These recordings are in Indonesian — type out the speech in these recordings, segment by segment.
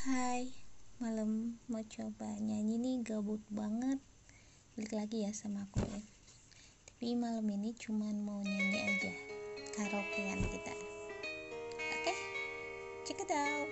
Hai, malam mau coba nyanyi nih, gabut banget. Balik lagi ya sama aku ya. Tapi malam ini cuman mau nyanyi aja, karaokean kita. Oke, check it out.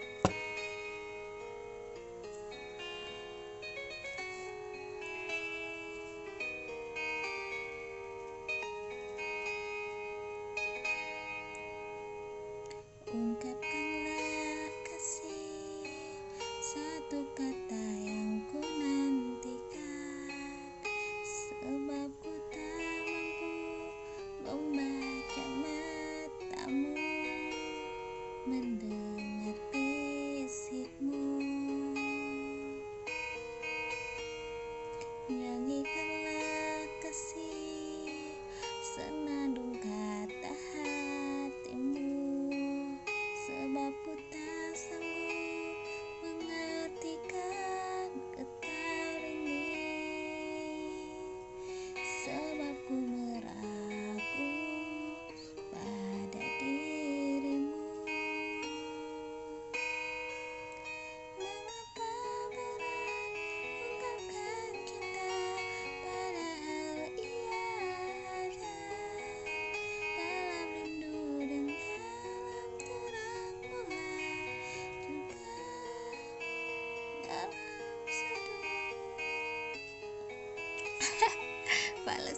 Ungkapkanlah kasih, satu kata yang ku nantikan, sebab ku tak mampu membaca matamu, mendengar bisikmu. Nyanyikanlah kasih, senandung kata hatimu, sebab ku tak sanggup mengartikan getar ini, sebab ku meragu pada dirimu. Mengapa berat ungkapkan cinta, padahal ia ada dalam rindu dan dalam terang bulan, juga dalam seduh. Fales.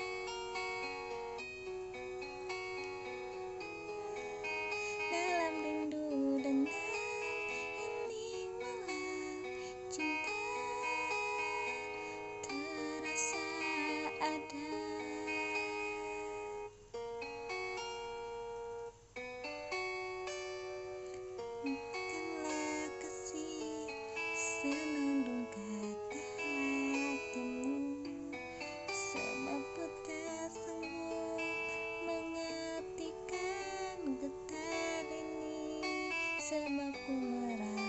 Dalam rindu dan dalam hening malam, cinta terasa ada. Ungkapkanlah kasih, senandung kata hatimu, sebab ku tak sanggup mengartikan getar ini, sebab ku merasa